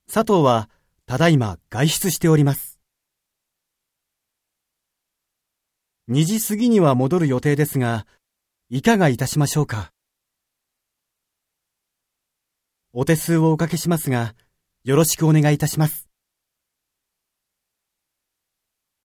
佐藤はただいま外出しております。2時過ぎには戻る予定ですが、いかがいたしましょうか。お手数をおかけしますが、よろしくお願いいたします。